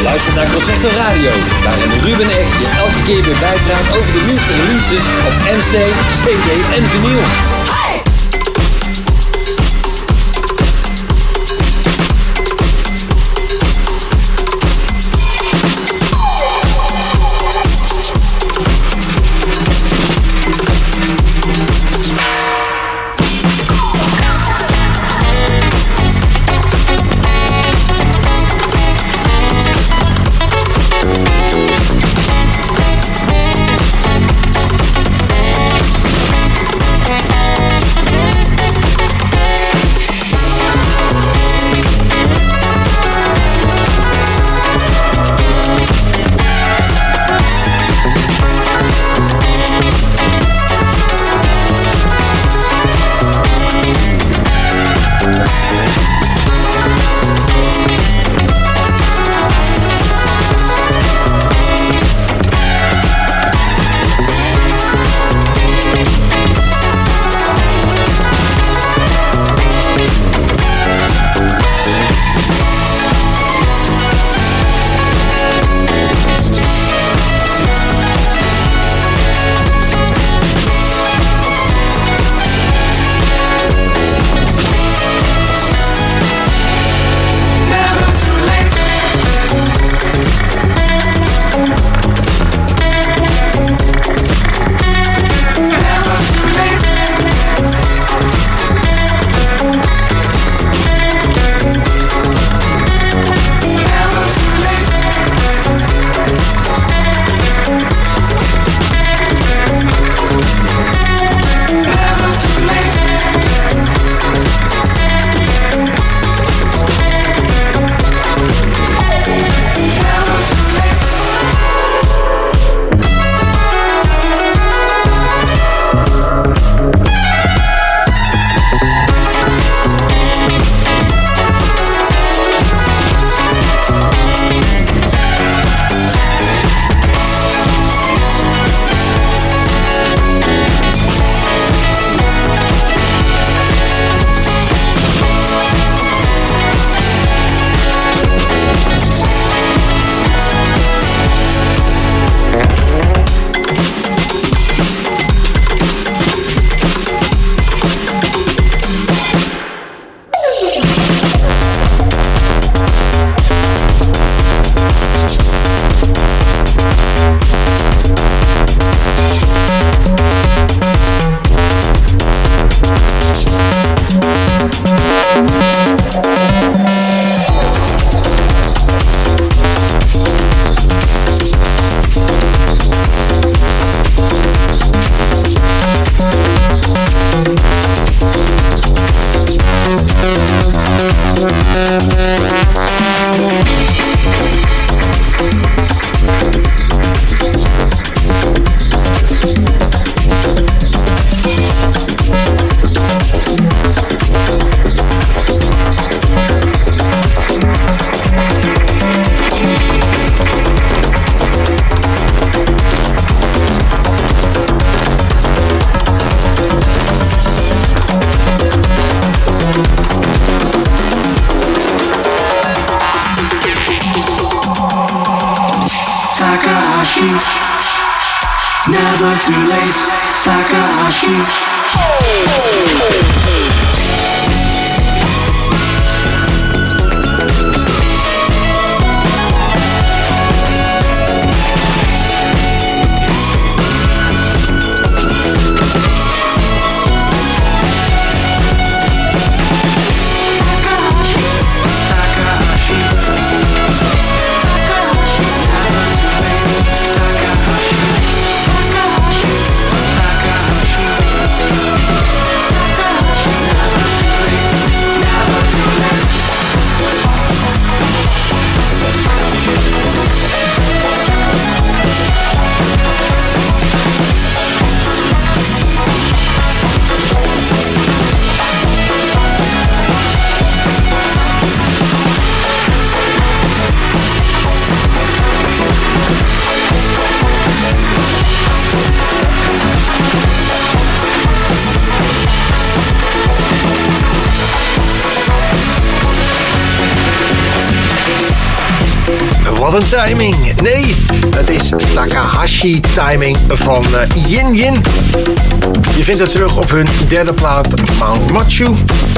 luistert naar Concerto Radio, waarin Ruben Echt je elke keer weer bijpraat over de nieuwste releases op MC, CD en vinyl. Never too late, Takahashi. Wat een timing. Nee, het is Takahashi timing van Yin Yin. Je vindt het terug op hun derde plaat Mount Machu.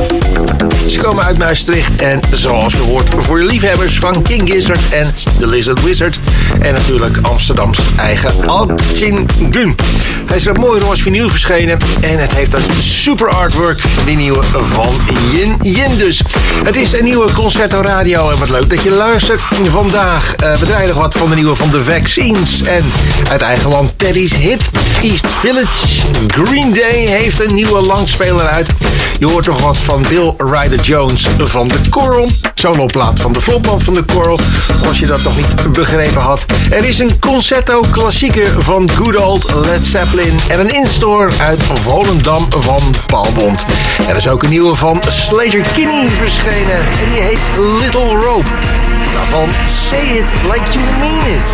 Ze komen uit Maastricht en zoals je hoort voor je liefhebbers van King Gizzard en The Lizard Wizard. En natuurlijk Amsterdams eigen Al-Chin Gun. Hij is op mooi roze vinyl verschenen en het heeft een super artwork, die nieuwe van Yin Yin dus. Het is een nieuwe Concerto Radio en wat leuk dat je luistert. Vandaag we draaien nog wat van de nieuwe van The Vaccines en uit eigen land Teddy's hit East Village. Green Day heeft een nieuwe langspeler uit. Je hoort nog wat van Bill Ryder Jones van The Coral. Soloplaat van de frontman van The Coral, als je dat nog niet begrepen had. Er is een concerto klassieker van good old Led Zeppelin en een instore uit Volendam van Paalbond. Er is ook een nieuwe van Slater Kinney verschenen en die heet Little Rope. Daarvan Say It Like You Mean It.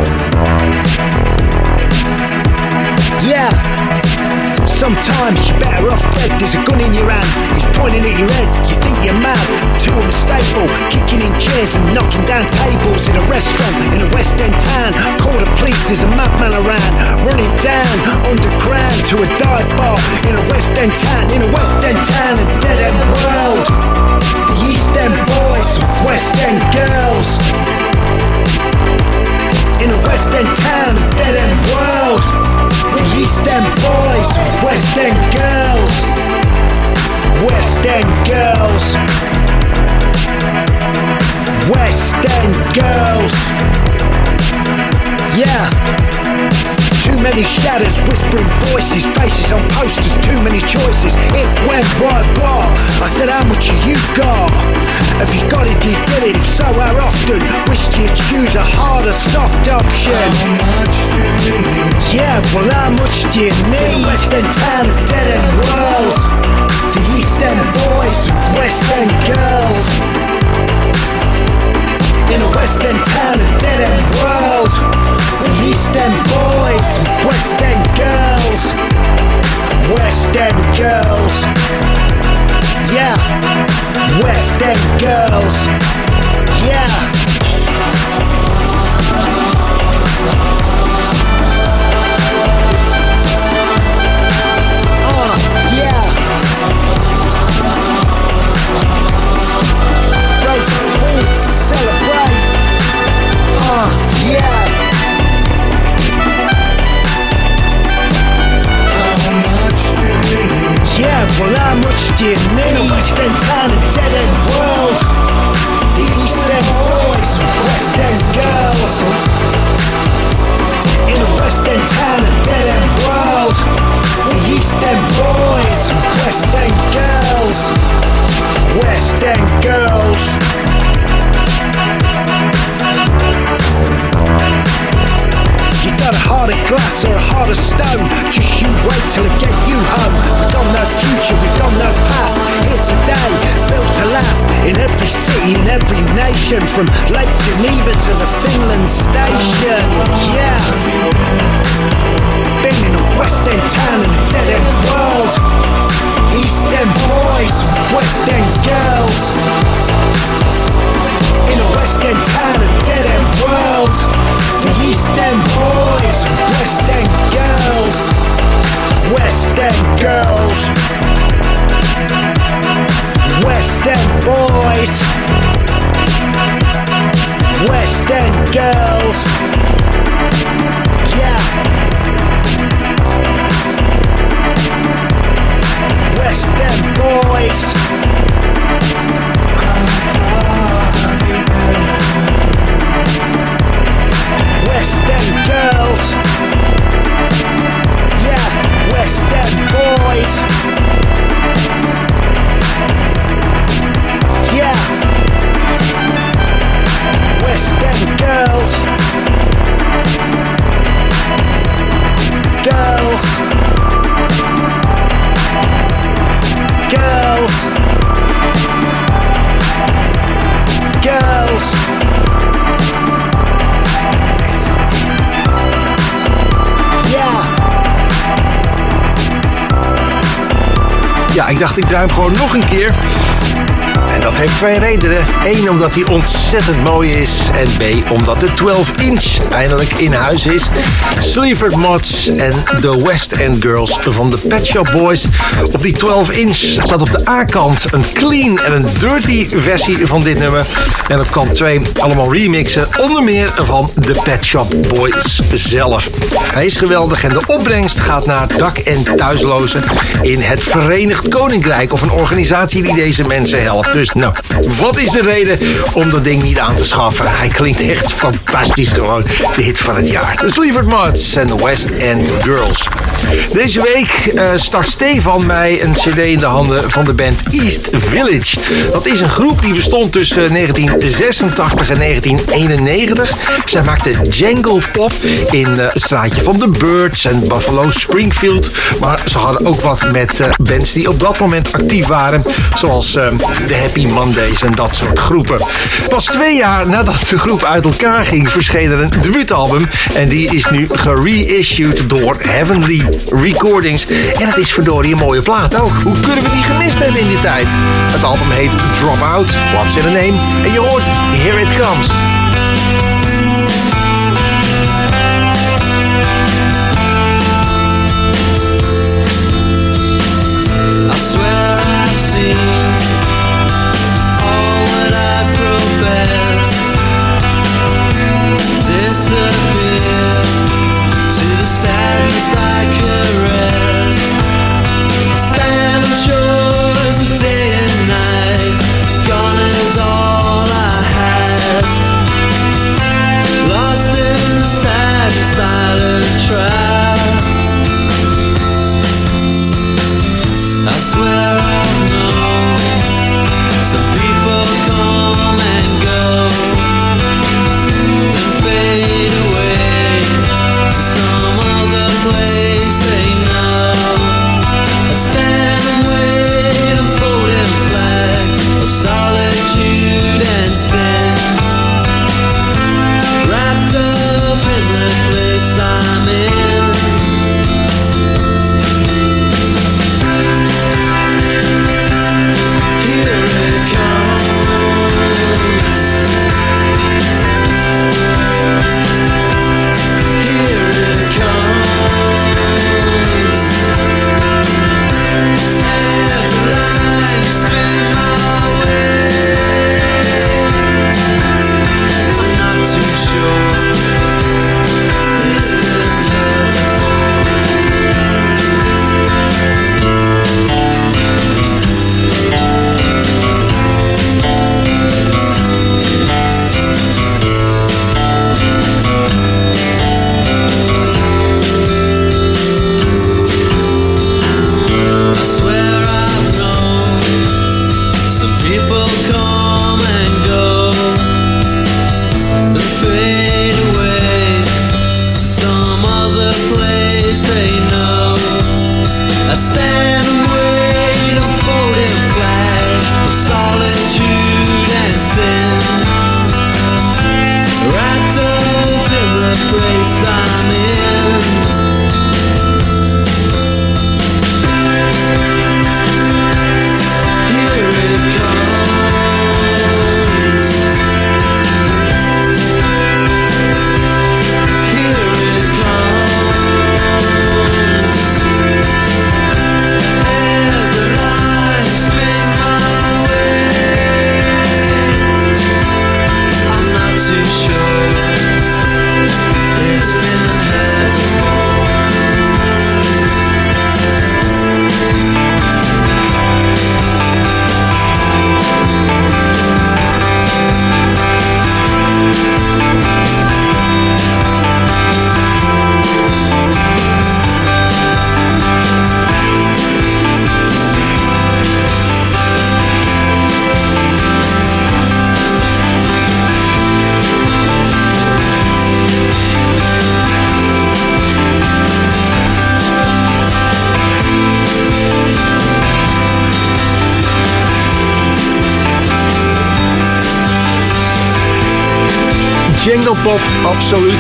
Sometimes you better better off dead. There's a gun in your hand, it's pointing at your head. You think you're mad, too unstable, kicking in chairs and knocking down tables in a restaurant in a West End town. Call the police, there's a madman around, running down underground to a dive bar in a West End town, in a West End town, a dead end world. The East End boys with West End girls. In a West End town, a dead end world. The East End boys with West End girls. West End girls. West End girls. Yeah. Too many shadows, whispering voices, faces on posters, too many choices. If, when, why, what? I said, how much have you got? Have you got it, do you get it? If so, how often? Wish you'd choose a harder, soft option. How much do you need? Yeah, well, how much do you need? West End town, a dead end world. To East End boys with West End girls. In a West End town, a dead end world. The East End boys with West End girls. West End girls. Yeah. West End girls. Yeah. Yeah, well, how much do you need? In a West End town, a dead end world. The East End boys, West End girls. In a West End town, a dead end world. The East End boys, West End girls. West End girls. You got a heart of glass or a heart of stone. Just you wait till I get you home. We got no future, we got no past. Here today, built to last. In every city, in every nation. From Lake Geneva to the Finland station. Yeah. Been in a West End town in a dead end world. East End boys, West End girls. In a West End town, a dead end world. The East End boys, West End girls. West End girls. West End boys. West End girls. Yeah. West End boys. West End girls. Yeah, West End boys. Yeah. West End girls. Girls. Girls. Girls. Ja, ik dacht ik draai hem gewoon nog een keer. En dat heeft twee redenen. Eén, omdat hij ontzettend mooi is. En B, omdat de 12-inch eindelijk in huis is. Sleaford Mods en de West End Girls van de Pet Shop Boys. Op die 12-inch staat op de A-kant een clean en een dirty versie van dit nummer. En op kant 2 allemaal remixen. Onder meer van de Pet Shop Boys zelf. Hij is geweldig en de opbrengst gaat naar dak- en thuislozen in het Verenigd Koninkrijk. Of een organisatie die deze mensen helpt. Dus nou, wat is de reden om dat ding niet aan te schaffen? Hij klinkt echt fantastisch gewoon. De hit van het jaar. De Sleaford Mods en de West End Girls. Deze week start Stefan mij een cd in de handen van de band East Village. Dat is een groep die bestond tussen 1986 en 1991. Zij maakte jangle pop in het straatje van The Birds en Buffalo Springfield. Maar ze hadden ook wat met bands die op dat moment actief waren. Zoals de Happy Mondays en dat soort groepen. Pas 2 jaar nadat de groep uit elkaar ging, verscheen er een debuutalbum. En die is nu gereissued door Heavenly Recordings. En het is verdorie een mooie plaat ook. Hoe kunnen we die gemist hebben in die tijd? Het album heet Drop Out, What's in a Name? En je hoort Here It Comes. I swear I've seen all that I profess disappear to the sadness I caress. Stand on shores of day and night, gone is all I had. Lost in the sad and silent trap. I swear I've known some people come and go, then fade away to some other place they know. I stand and wait on floating flags of solitude and sin, wrapped up in the place I'm in. Jungle pop, absoluut.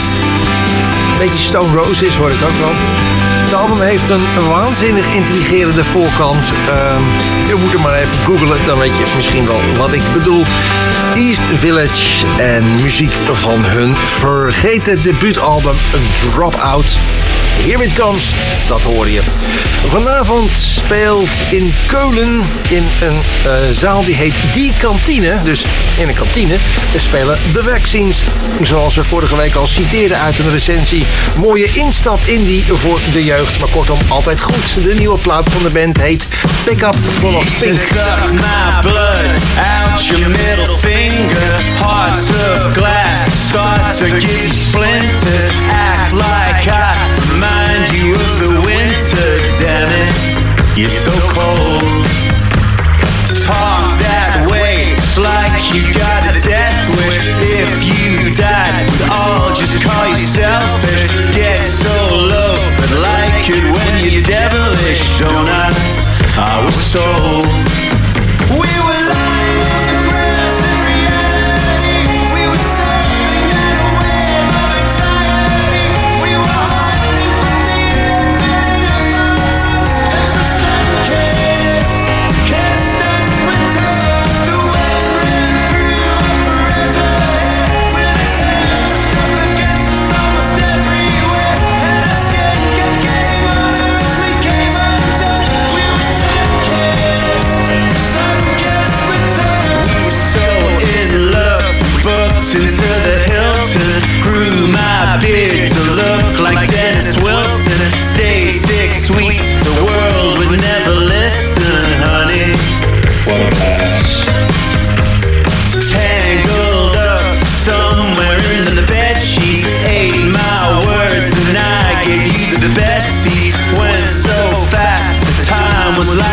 Beetje Stone Roses hoor ik ook wel. Het album heeft een waanzinnig intrigerende voorkant. Je moet er maar even googlen, dan weet je misschien wel wat ik bedoel. East Village en muziek van hun vergeten debuutalbum Drop Out. Here It Comes, dat hoor je. Vanavond speelt in Keulen in een zaal die heet Die Kantine. Dus in een kantine spelen The Vaccines. Zoals we vorige week al citeerden uit een recensie. Mooie instap indie voor de jeugd. Maar kortom, altijd goed. De nieuwe plaat van de band heet Pick Up Full of Pink. Suck my blood out your middle finger. Hearts of glass start to give you splinters. Act like I remind you of the winter. Damn it, you're so cold. Talk that way, it's like you got a death wish. If you died, we'd all just call you selfish. Get so low, but like it when you're devilish, don't I? I was sold. We were lying.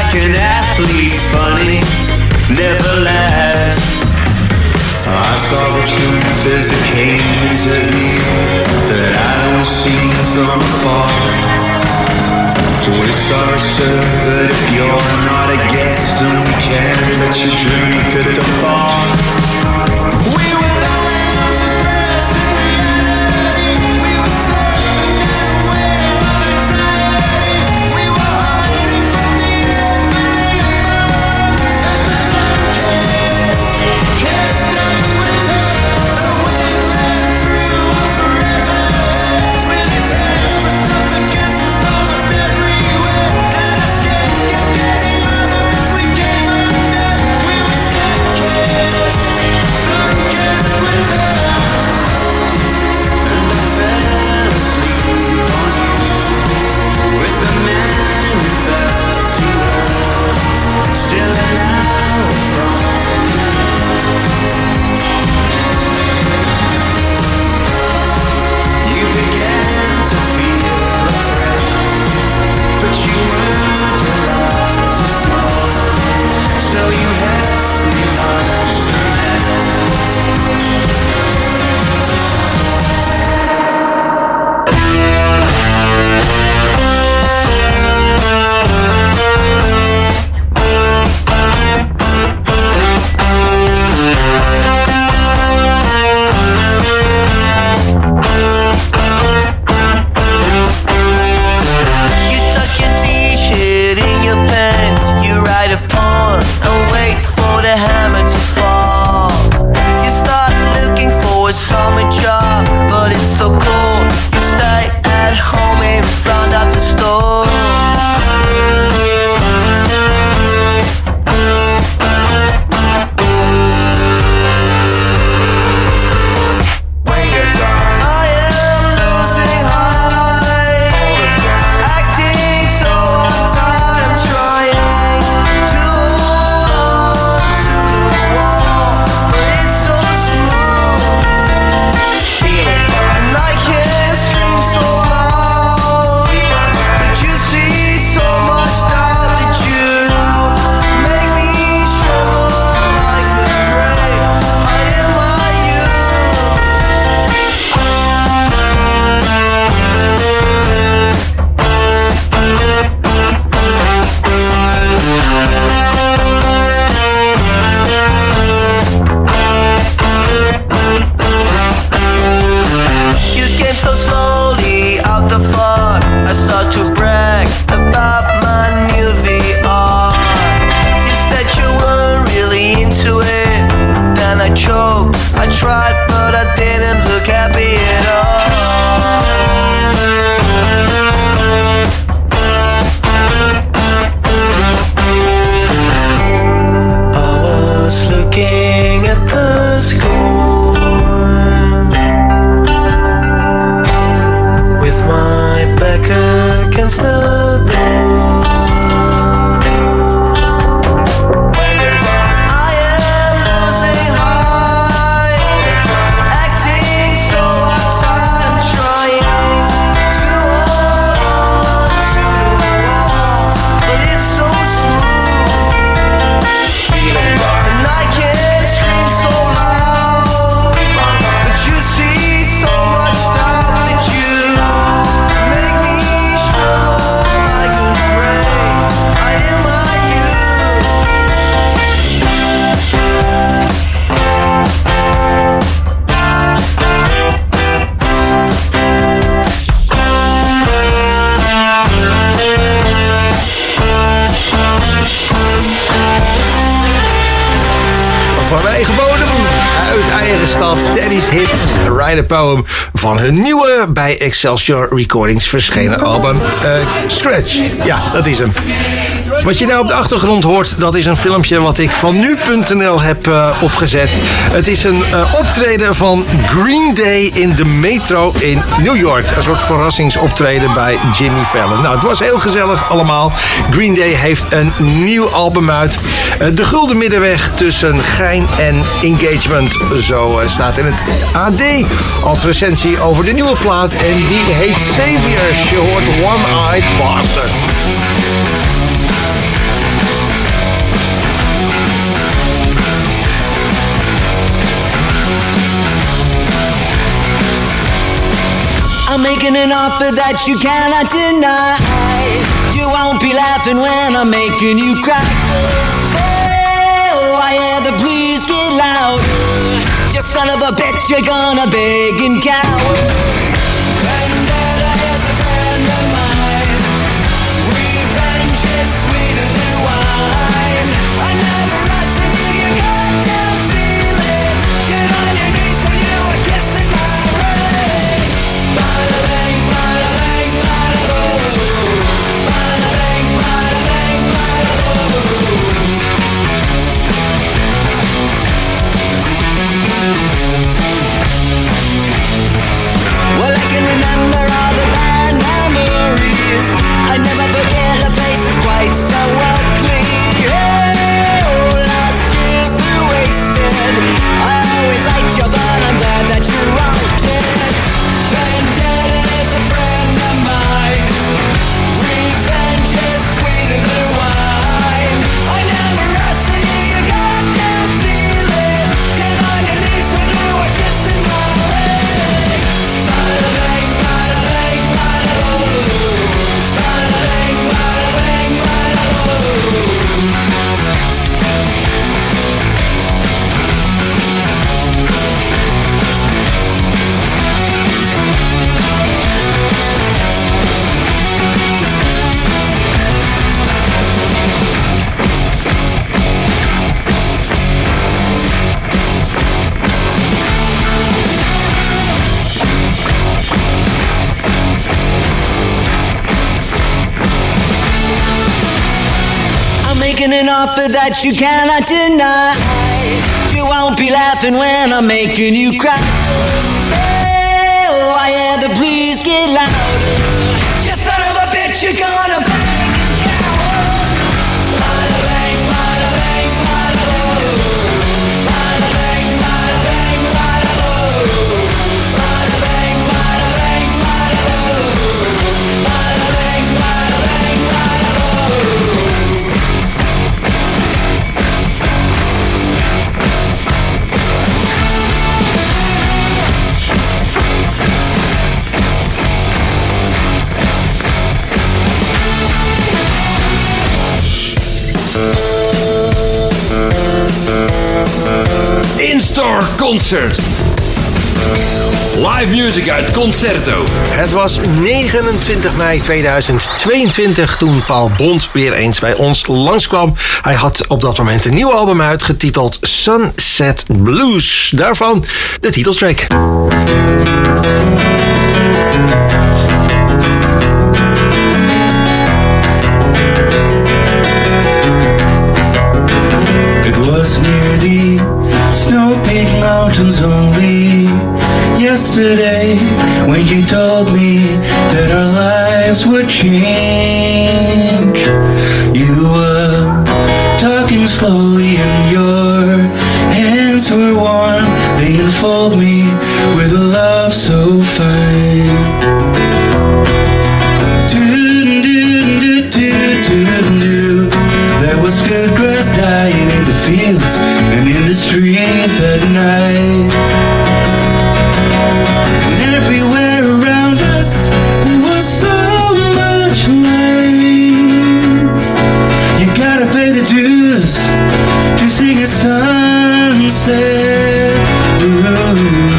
like an athlete, funny, never last. I saw the truth as it came into view, that I'd only seen from afar. We're sorry, sir, but if you're not a guest, then we can't let you drink at the bar. We were lying on the grass in reality. We were surfing down a wave of anxiety. We were hiding from the unbelievable as the sun kissed us with tears. The wind ran through us forever. With his hands pressed up against us almost everywhere. And our skin kept getting harder as we came under. We were sun-kissed with tears. And I fell asleep on you, with the man who fell to earth, still an hour from you. You began to feel afraid, but you weren't allowed to smile, so you held me like some You tuck your t-shirt in your pants, you write a poem and wait for the hammer to fall. You start looking for a summer job, but it's so cold. You stay at home in front of the store. I am losing height, acting so uptight. I'm trying to hold on to the wall, but it's so smooth, and I can't scream so loud. But you see so much doubt that you make me struggle like a grave. I am my youth. You came so slowly out the fog. I start to brag about my new VR. You said you weren't really into it, then I choked. I tried, but I didn't look happy at all. I was looking at the score with my back against the door. I am losing height, acting so uptight. I'm trying to hold on to the wall, but it's so smooth, and I can't scream so loud. But you see so much doubt that you make me struggle like a grave. I am my youth. Van mijn eigen bodem, uit eigen stad, Daddy's Hits, Write a Poem, van hun nieuwe bij Excelsior Recordings verschenen album Scratch. Ja, dat is hem. Wat je nou op de achtergrond hoort, dat is een filmpje wat ik van nu.nl heb opgezet. Het is een optreden van Green Day in de metro in New York. Een soort verrassingsoptreden bij Jimmy Fallon. Nou, het was heel gezellig allemaal. Green Day heeft een nieuw album uit. De gulden middenweg tussen gein en engagement. Zo staat in het AD als recensie over de nieuwe plaat. En die heet Saviors. Je hoort One-Eyed Bastard. making an offer that you cannot deny. You won't be laughing when I'm making you cry. Oh, I hear the blues get louder. You son of a bitch, you're gonna beg and cower. Vendetta is a friend of mine. Revenge is sweeter than wine. I never wrestle you, you goddamn feel it. Get on your knees when you were kissing my ring. Bada bang, bada bang, bada boom. Bada bang, bada bang, bada boom. Well, I can remember all the bad memories. I never forget her face is quite so ugly. Oh, last year's are wasted. I always liked you, but I'm glad that you're altered. Vendetta is a friend of mine. Revenge is sweeter than wine. I never wrestle you, you goddamn feel it. Get on your knees when you were kissing my ring. Bada bang, bada bang, bada boom. Bada bang, bada bang, bada boom. I'm making an offer that you cannot deny. You won't be laughing when I'm making you cry. Oh, I hear the blues get louder. You son of a bitch, you're gonna bang and cower. Bada bang, bada bang, bada boom. Bada bang, bada bang, bada boom. Bada bang, bada bang, bada boom. Bada bang, bada bang, bada boom. In-store concert. Live music uit Concerto. Het was 29 mei 2022 toen Paul Bond weer eens bij ons langskwam. Hij had op dat moment een nieuw album uit, getiteld Sunset Blues. Daarvan de titeltrack. It was near the snow-peaked mountains only yesterday when you told me that our lives would change. You were talking slowly and your hands were warm. They enfold me with a love so fine. There was good grass dying in the fields and in the street that night. And everywhere around us there was so much light. You gotta pay the dues to sing a sunset blues.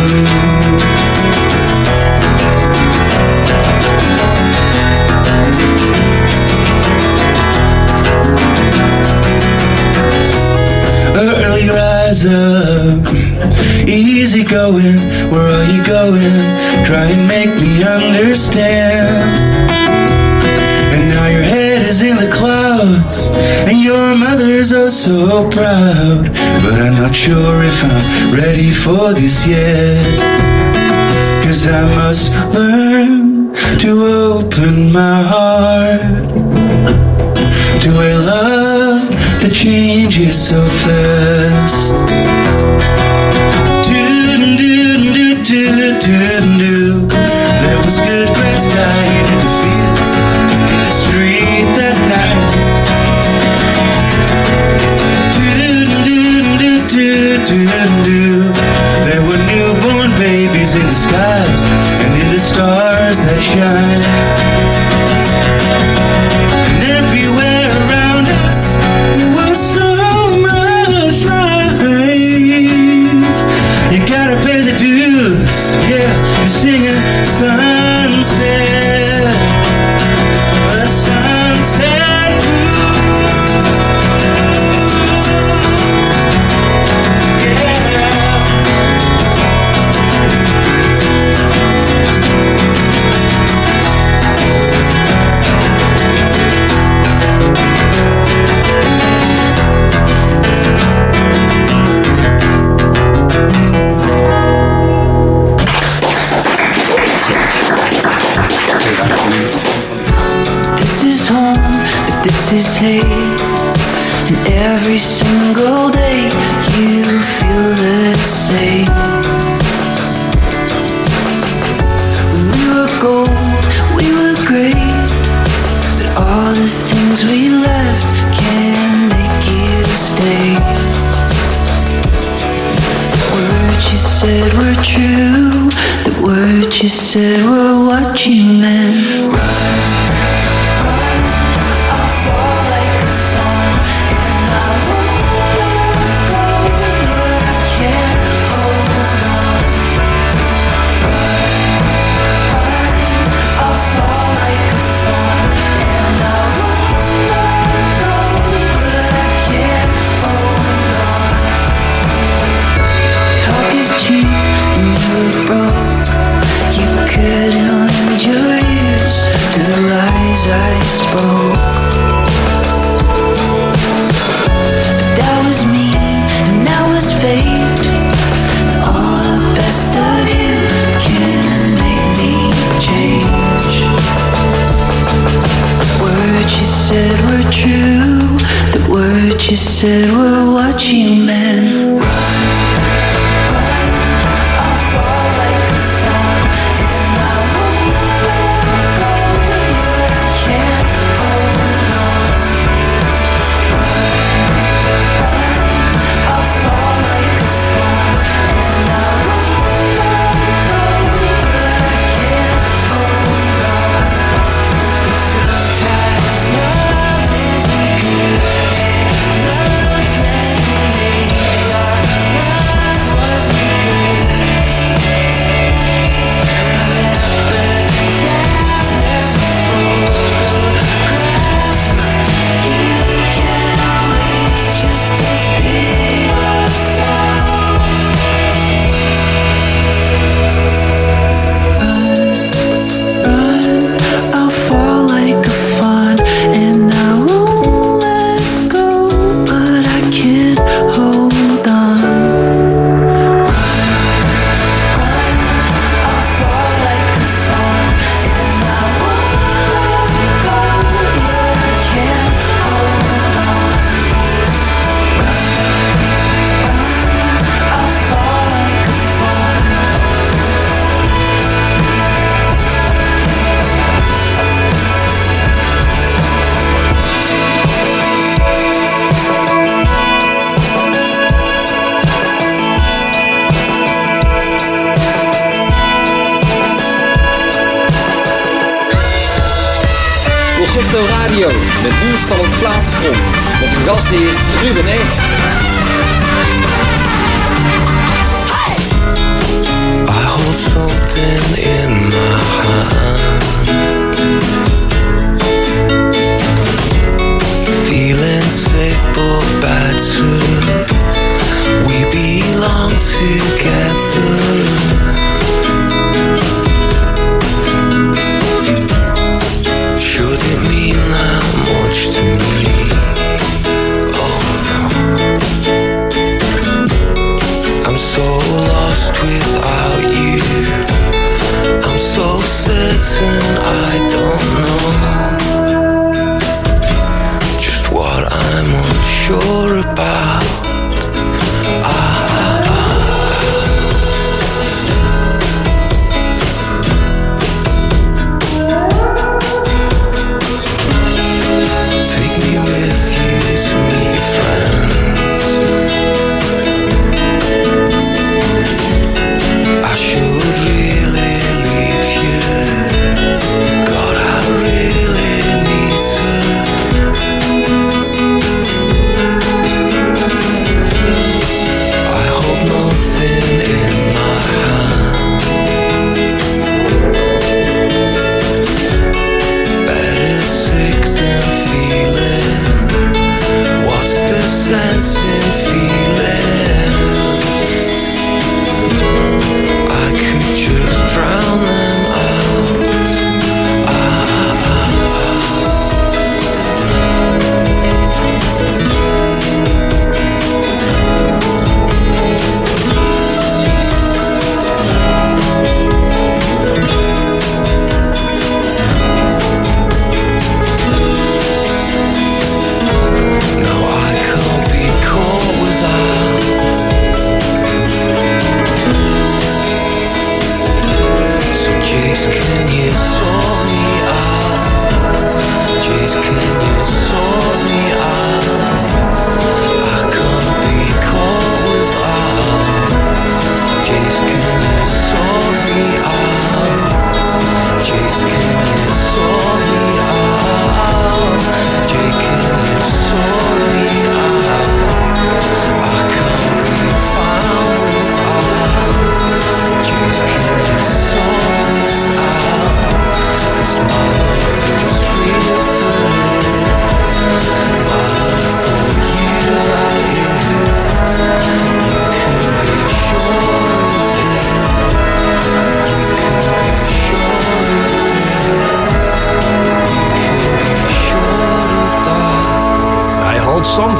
Early rise up, easy going, where are you going? Try and make me understand. And now your head is in the clouds, and your mother's oh so proud. But I'm not sure if I'm ready for this yet. 'Cause I must learn to open my heart to a love that changes so fast. There was good grass dying in the fields and in the street that night. There were newborn babies in the skies and in the stars Every single day you feel the same. When we were gold, we were great, but all the things we left can't make you stay. The words you said were true, the words you said were what you meant. I spoke, but that was me and that was fate. All the best of you can make me change. The words you said were true, the words you said were what you meant. Radio, met nieuws van het platenfront. Met uw gastheer Ruben Echt. I hold something in my hand, feeling sick but battered. We belong together. Should it mean that much to me? Oh no, I'm so lost without you. I'm so certain I don't know just what I'm unsure about.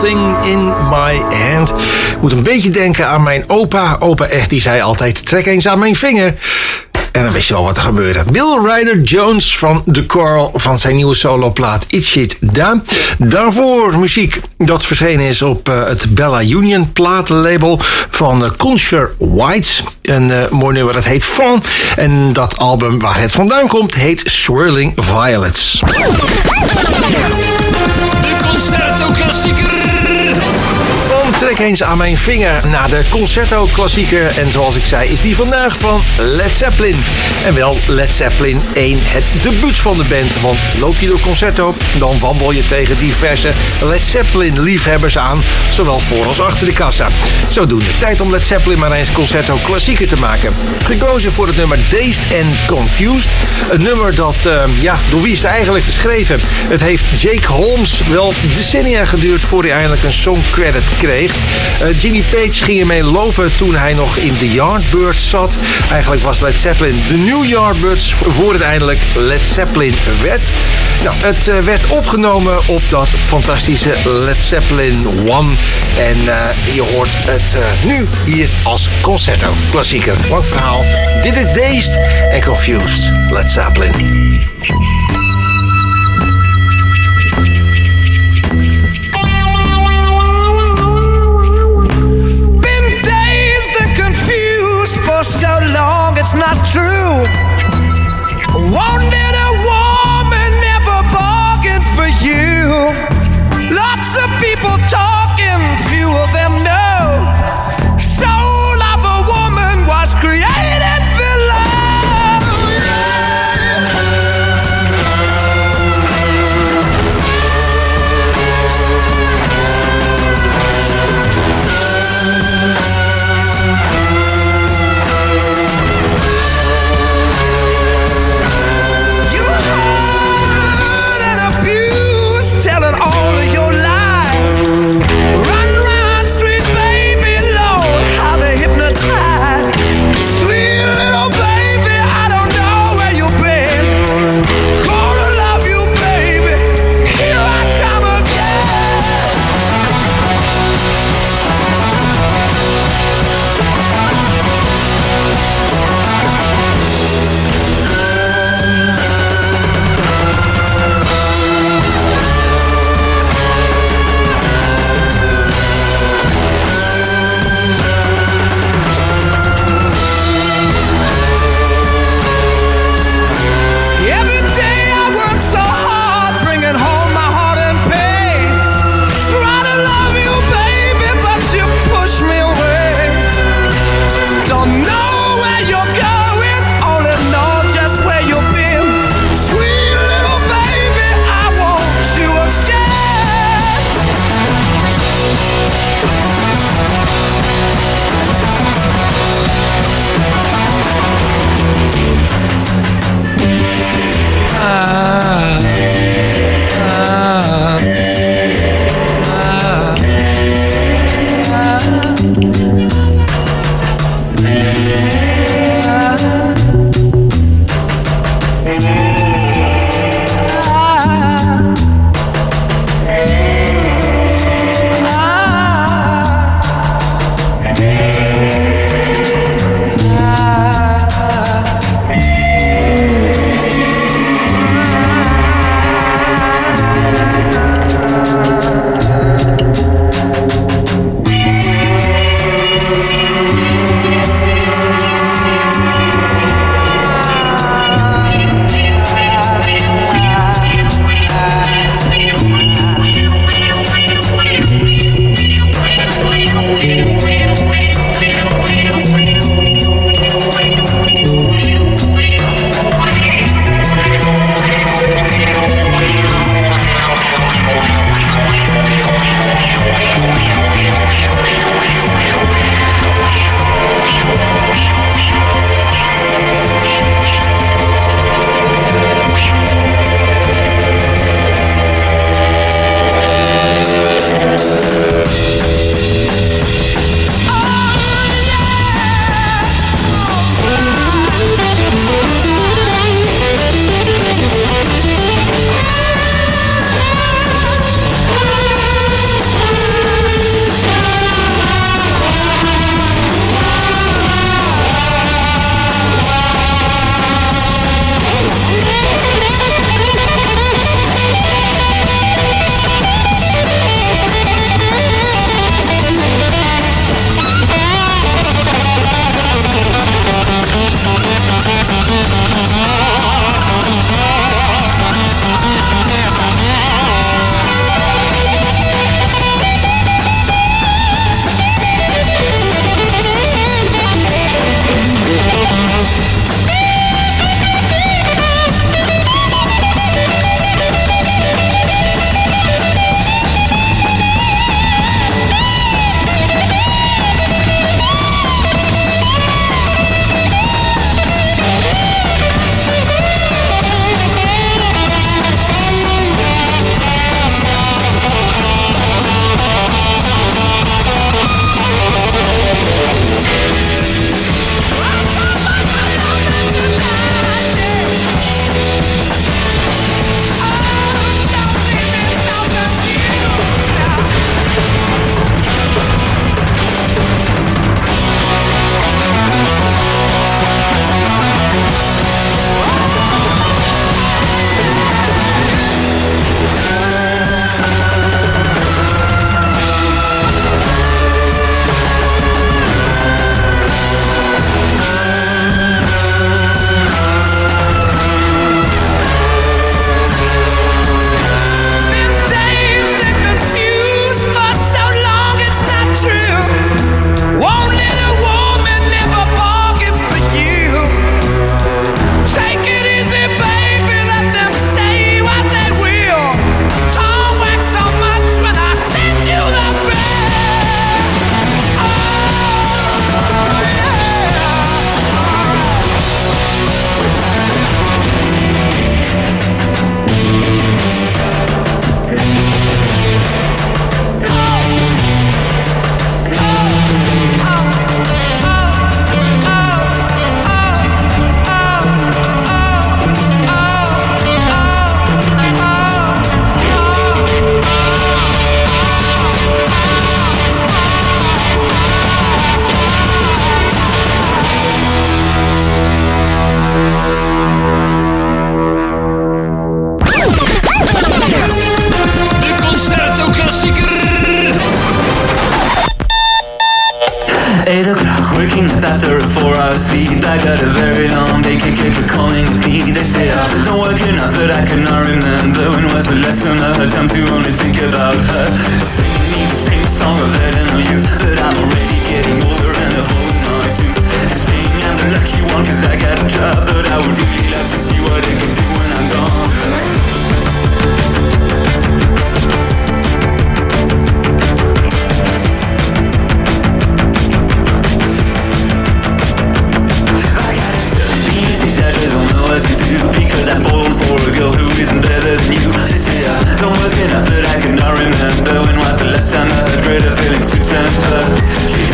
Something in My Hand. Moet een beetje denken aan mijn opa. Opa echt, die zei altijd, trek eens aan mijn vinger. En dan wist je wel wat er gebeurde. Bill Ryder Jones van The Coral van zijn nieuwe soloplaat Itch It Down. Daarvoor muziek dat verschenen is op het Bella Union platenlabel van Concher White. Een mooi nummer dat heet Fawn. En dat album waar het vandaan komt heet Swirling Violets. De Concerto-klassieker. Trek eens aan mijn vinger naar de Concerto-klassieker. En zoals ik zei, is die vandaag van Led Zeppelin. En wel Led Zeppelin 1, het debuut van de band. Want loop je door Concerto, dan wandel je tegen diverse Led Zeppelin-liefhebbers aan. Zowel voor als achter de kassa. Zodoende tijd om Led Zeppelin maar eens Concerto-klassieker te maken. Gekozen voor het nummer Dazed and Confused. Een nummer dat, door wie is het eigenlijk geschreven? Het heeft Jake Holmes wel decennia geduurd voor hij eindelijk een songcredit kreeg. Jimmy Page ging ermee lopen toen hij nog in de Yardbirds zat. Eigenlijk was Led Zeppelin de New Yardbirds voor het eindelijk Led Zeppelin werd. Nou, het werd opgenomen op dat fantastische Led Zeppelin 1. En je hoort het nu hier als Concerto klassieker. Lang verhaal. Dit is Dazed and Confused. Led Zeppelin. So long it's not true. Wanted a woman, never bargained for you. Lots of people talking, few of them know. Soul of a woman was created below. Waking up after a 4-hour sleep, I got a very long day, calling at me. They say I don't work enough that I cannot remember when was the last time I had time to only think about her. Singing me the same song of eternal youth, but I'm already getting older and a hole in my tooth. Saying I'm the lucky one 'cause I got a job, but I would really love to see what it can do when I'm gone. Because I've fallen for a girl who isn't better than you. They say I don't work enough that I cannot remember when was the last time I had greater feelings to temper. She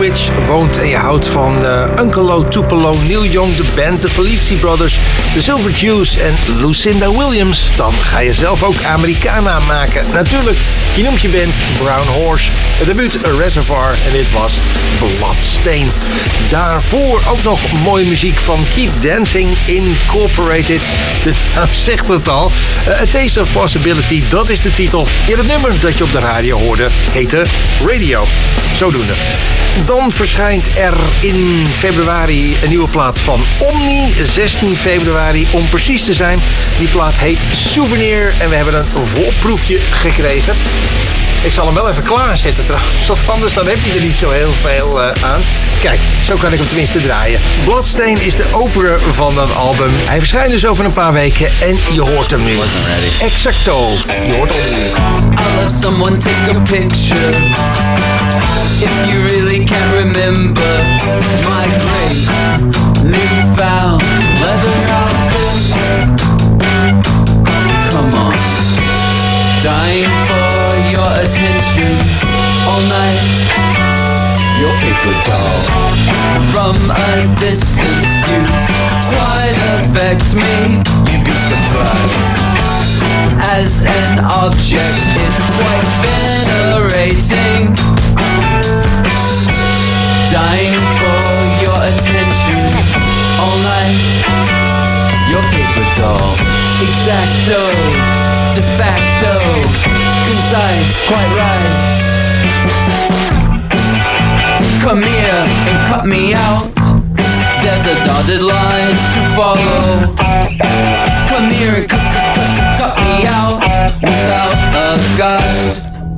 Woolwich woont en je houdt van Uncle Tupelo, Neil Young, de band, de Felicity Brothers, de Silver Jews en Lucinda Williams, dan ga je zelf ook Americana maken. Natuurlijk, je noemt je band Brown Horse. Het debuut Reservoir en dit was Bloodstain. Daarvoor ook nog mooie muziek van Keep Dancing Incorporated. De naam zegt het al. A Taste of Possibility, dat is de titel. In het nummer dat je op de radio hoorde heette Radio. Zodoende. Dan verschijnt er in februari een nieuwe plaat van Omni. 16 februari om precies te zijn. Die plaat heet Souvenir en we hebben een voorproefje gekregen. Ik zal hem wel even klaarzetten trouwens, want anders dan heb je er niet zo heel veel aan. Kijk, zo kan ik hem tenminste draaien. Bloodstain is de opener van dat album. Hij verschijnt dus over een paar weken en je hoort hem nu. Exacto. Je hoort hem nu. I'll let someone take a picture. If you really can't remember my great newfound leather outfit. Come on. Dying for your attention all night. Your paper doll. From a distance you quite affect me. You'd be surprised. As an object it's quite venerating. Dying for your attention all night. Your paper doll. Exacto. De facto. Concise. Quite right. Come here and cut me out. There's a dotted line to follow. Come here and cut me out without a guide.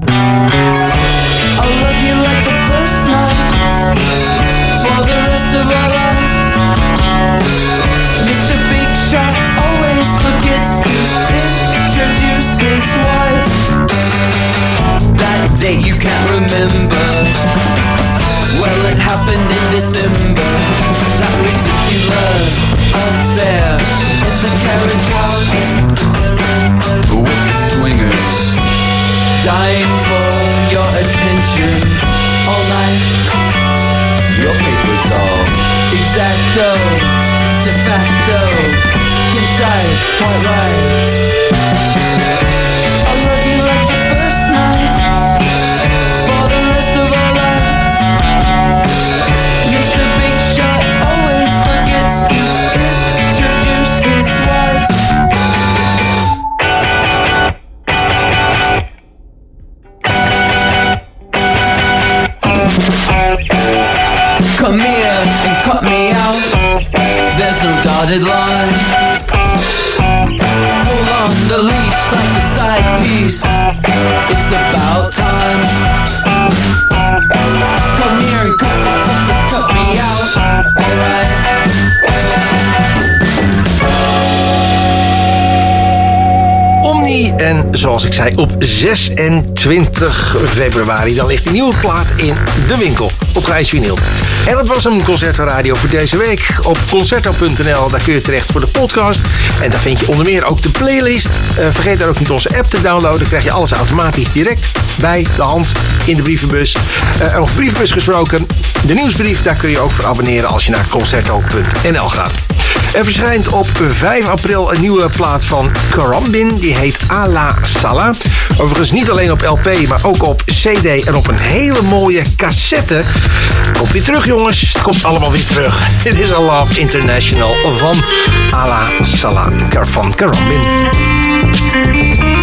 I'll love you like the first night for the rest of our lives. Mr. Big Shot always forgets to introduce his wife. That date you can't remember. Well, it happened in December. That ridiculous affair in the carriage house with the swingers. Dying for your attention all night. Your paper doll. Exacto. De facto. Concise. Quite right. I love you like the first night for the rest of our lives. Mr. Big Shot always forgets to introduce his wife. Come here and cut me out. There's no dotted line. Pull on the leash like a side piece. It's about time. Come here and cut me out. Alright. Omni en zoals ik zei op 26 februari dan ligt die nieuwe plaat in de winkel op grijs vinyl. En dat was een Concerto Radio voor deze week. Op Concerto.nl, daar kun je terecht voor de podcast. En daar vind je onder meer ook de playlist. Vergeet daar ook niet onze app te downloaden. Dan krijg je alles automatisch direct bij de hand in de brievenbus. Over brievenbus gesproken, de nieuwsbrief, daar kun je ook voor abonneren als je naar Concerto.nl gaat. Er verschijnt op 5 april een nieuwe plaat van Karambin. Die heet Ala Sala. Overigens niet alleen op LP, maar ook op CD en op een hele mooie cassette. Komt weer terug, jongens. Het komt allemaal weer terug. Dit is A Love International van Ala Sala van Karambin.